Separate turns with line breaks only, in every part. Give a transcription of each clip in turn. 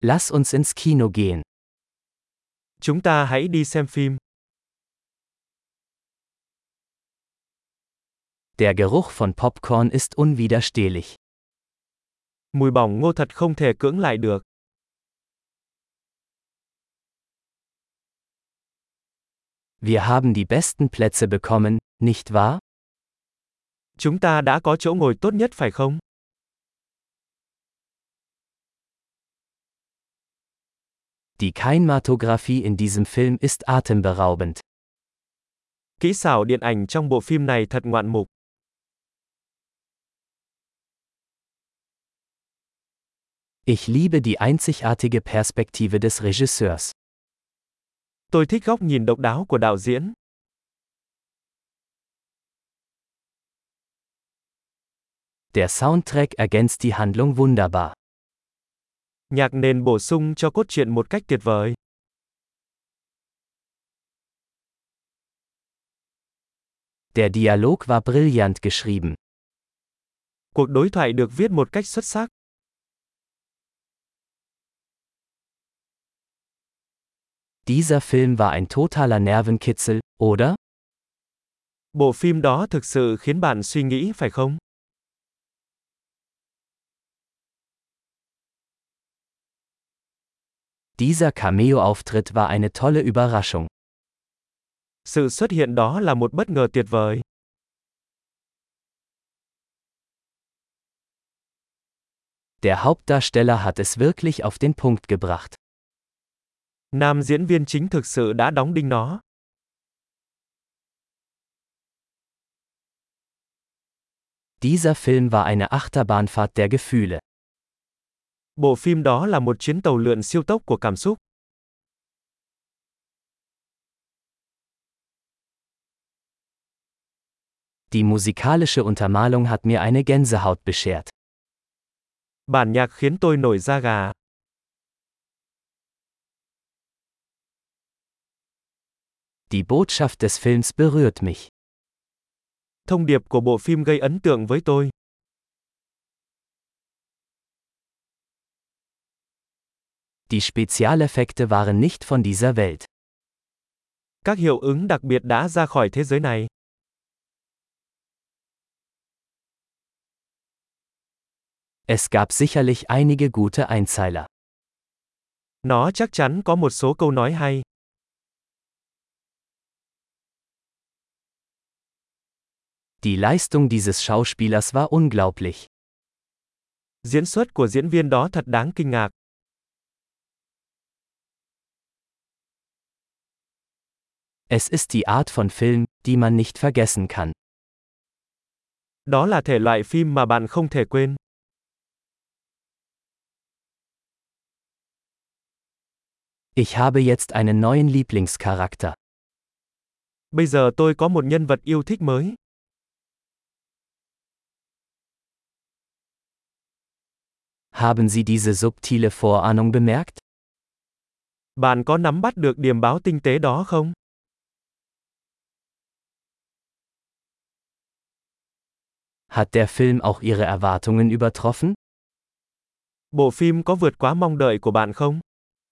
Lass uns ins Kino gehen.
Chúng ta hãy đi xem phim.
Der Geruch von Popcorn ist unwiderstehlich.
Mùi bỏng ngô thật không thể cưỡng lại được.
Wir haben die besten Plätze bekommen, nicht wahr?
Chúng ta đã có chỗ ngồi tốt nhất phải không?
Die Kinematographie in diesem Film ist atemberaubend.
Kỹ xảo điện ảnh trong bộ phim này thật ngoạn mục.
Ich liebe die einzigartige Perspektive des Regisseurs.
Tôi thích góc nhìn độc đáo của đạo diễn.
Der Soundtrack ergänzt die Handlung wunderbar.
Nhạc nền bổ sung cho cốt truyện một cách tuyệt vời.
Der Dialog war brillant geschrieben.
Cuộc đối thoại được viết một cách xuất sắc.
Dieser Film war ein totaler Nervenkitzel, oder?
Bộ phim đó thực sự khiến bạn suy nghĩ phải không?
Dieser Cameo-Auftritt war eine tolle Überraschung.
Sự xuất hiện đó là một bất ngờ tuyệt vời.
Der Hauptdarsteller hat es wirklich auf den Punkt gebracht.
Nam diễn viên chính thực sự đã đóng đinh nó.
Dieser Film war eine Achterbahnfahrt der Gefühle.
Bộ phim đó là một chuyến tàu lượn siêu tốc của cảm xúc.
Die musikalische Untermalung hat mir eine Gänsehaut beschert.
Bản nhạc khiến tôi nổi da gà.
Die Botschaft des Films berührt mich.
Thông điệp của bộ phim gây ấn tượng với tôi.
Die Spezialeffekte waren nicht von dieser Welt.
Các hiệu ứng đặc biệt đã ra khỏi thế giới này.
Es gab sicherlich einige gute Einzeiler.
Nó chắc chắn có một số câu nói hay.
Die Leistung dieses Schauspielers war unglaublich.
Diễn xuất của diễn viên đó thật đáng kinh ngạc.
Es ist die Art von Film, die man nicht vergessen kann.
Đó là thể loại phim mà bạn không thể quên.
Ich habe jetzt einen neuen Lieblingscharakter.
Bây giờ tôi có một nhân vật yêu thích mới.
Haben Sie diese subtile Vorahnung bemerkt?
Bạn có nắm bắt được điểm báo tinh tế đó không?
Hat der Film auch Ihre Erwartungen übertroffen?
Bộ phim có vượt quá mong đợi của bạn không?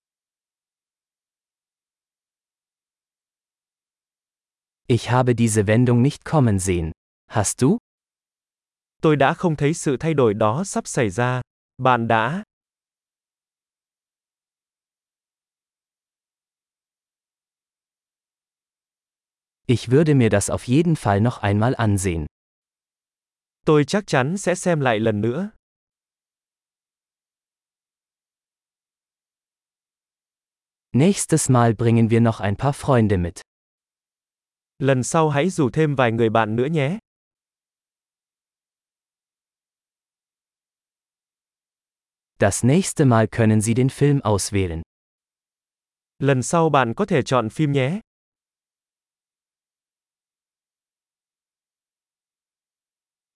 Ich habe diese Wendung nicht kommen sehen. Hast du?
Tôi đã không thấy sự thay đổi đó sắp xảy ra. Bạn đã?
Ich würde mir das auf jeden Fall noch einmal ansehen.
Tôi chắc chắn sẽ xem lại lần nữa.
Nächstes Mal bringen wir noch ein paar Freunde mit.
Lần sau hãy rủ thêm vài người bạn nữa nhé.
Das nächste Mal können Sie den Film auswählen.
Lần sau bạn có thể chọn phim nhé.